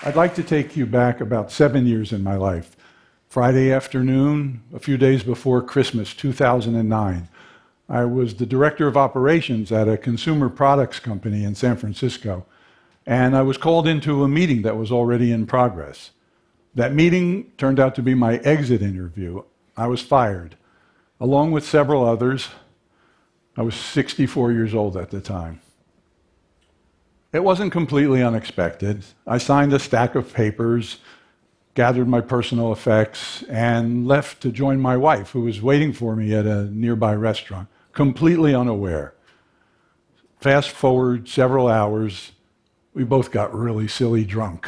I'd like to take you back about 7 years in my life. Friday afternoon, a few days before Christmas, 2009. I was the director of operations at a consumer products company in San Francisco, and I was called into a meeting that was already in progress. That meeting turned out to be my exit interview. I was fired, along with several others. I was 64 years old at the time. It wasn't completely unexpected. I signed a stack of papers, gathered my personal effects, and left to join my wife, who was waiting for me at a nearby restaurant, completely unaware. Fast forward several hours, we both got really silly drunk.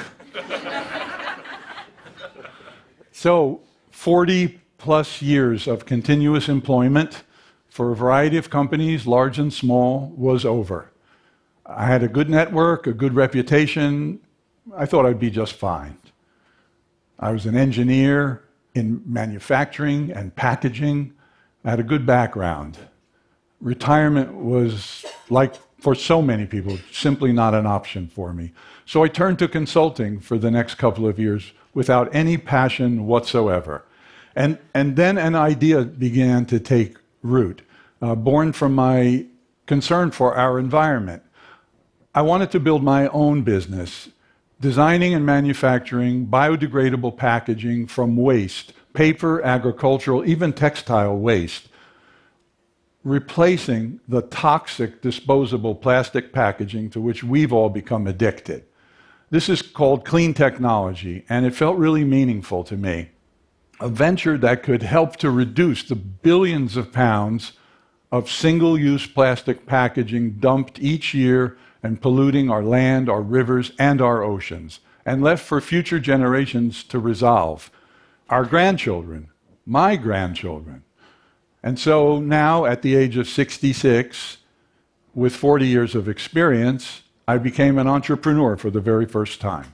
So, 40 plus years of continuous employment for a variety of companies, large and small, was over. I had a good network, a good reputation. I thought I'd be just fine. I was an engineer in manufacturing and packaging. I had a good background. Retirement was, like for so many people, simply not an option for me. So I turned to consulting for the next couple of years without any passion whatsoever. And then an idea began to take root, born from my concern for our environment. I wanted to build my own business, designing and manufacturing biodegradable packaging from waste, paper, agricultural, even textile waste, replacing the toxic disposable plastic packaging to which we've all become addicted. This is called clean technology, and it felt really meaningful to me. A venture that could help to reduce the billions of pounds of single-use plastic packaging dumped each year and polluting our land, our rivers, and our oceans, and left for future generations to resolve. Our grandchildren, my grandchildren. And so now, at the age of 66, with 40 years of experience, I became an entrepreneur for the very first time.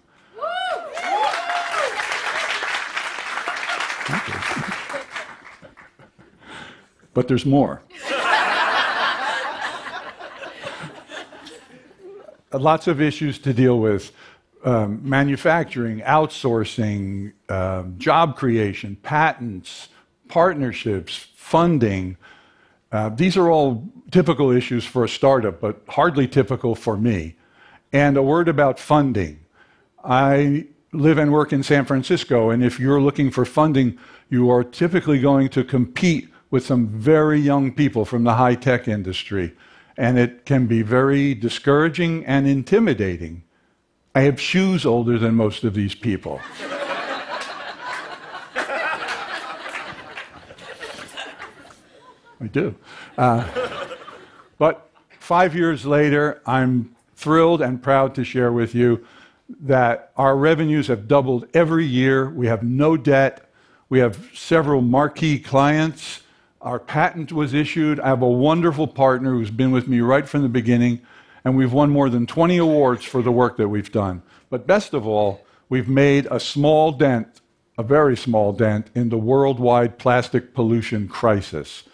But there's more. Lots of issues to deal with. Manufacturing, outsourcing, job creation, patents, partnerships, funding. These are all typical issues for a startup, but hardly typical for me. And a word about funding. I live and work in San Francisco, and if you're looking for funding, you are typically going to compete with some very young people from the high-tech industry. And it can be very discouraging and intimidating. I have shoes older than most of these people. I do. But 5 years later, I'm thrilled and proud to share with you that our revenues have doubled every year. We have no debt. We have several marquee clients. Our patent was issued. I have a wonderful partner who's been with me right from the beginning, and we've won more than 20 awards for the work that we've done. But best of all, we've made a small dent, a very small dent, in the worldwide plastic pollution crisis.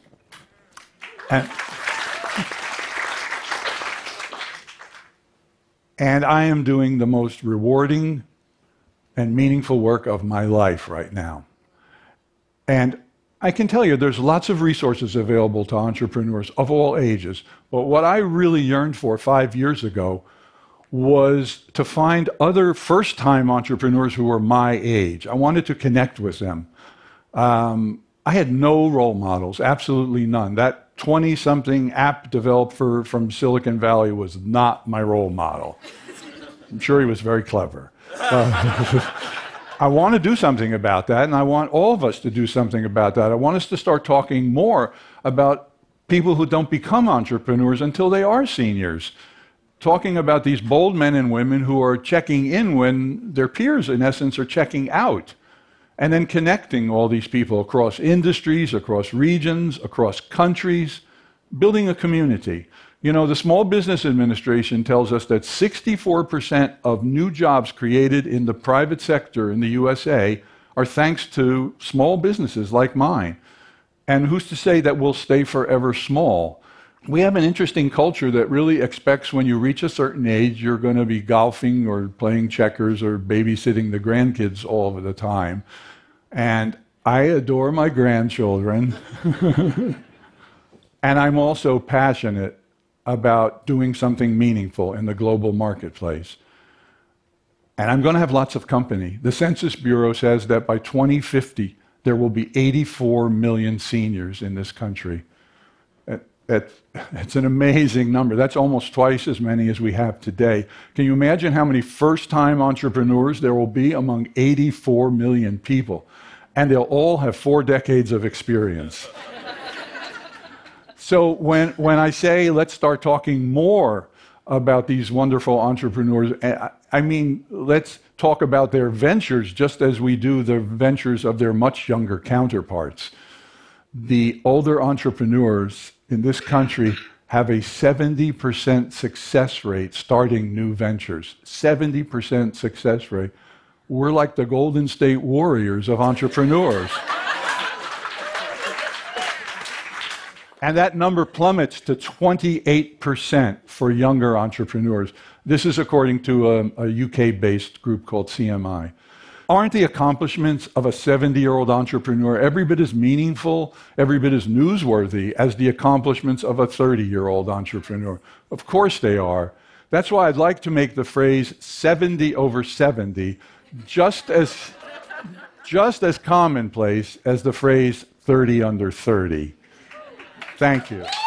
And I am doing the most rewarding and meaningful work of my life right now. And I can tell you there's lots of resources available to entrepreneurs of all ages, but what I really yearned for 5 years ago was to find other first-time entrepreneurs who were my age. I wanted to connect with them. I had no role models, absolutely none. That 20-something app developer from Silicon Valley was not my role model. I'm sure he was very clever. I want to do something about that, and I want all of us to do something about that. I want us to start talking more about people who don't become entrepreneurs until they are seniors. Talking about these bold men and women who are checking in when their peers, in essence, are checking out. And then connecting all these people across industries, across regions, across countries, building a community. You know, the Small Business Administration tells us that 64% of new jobs created in the private sector in the USA are thanks to small businesses like mine. And who's to say that we'll stay forever small? we have an interesting culture that really expects when you reach a certain age, you're going to be golfing or playing checkers or babysitting the grandkids all of the time. And I adore my grandchildren. And I'm also passionate about doing something meaningful in the global marketplace. And I'm going to have lots of company. The Census Bureau says that by 2050, there will be 84 million seniors in this country. It's an amazing number. That's almost twice as many as we have today. Can you imagine how many first-time entrepreneurs there will be among 84 million people? And they'll all have 4 decades of experience. So when I say let's start talking more about these wonderful entrepreneurs, I mean, let's talk about their ventures just as we do the ventures of their much younger counterparts. The older entrepreneurs in this country have a 70% success rate starting new ventures. 70% success rate. We're like the Golden State Warriors of entrepreneurs. And that number plummets to 28% for younger entrepreneurs. This is according to a UK-based group called CMI. Aren't the accomplishments of a 70-year-old entrepreneur every bit as meaningful, every bit as newsworthy as the accomplishments of a 30-year-old entrepreneur? Of course they are. That's why I'd like to make the phrase 70 over 70 just as commonplace as the phrase 30 under 30. Thank you.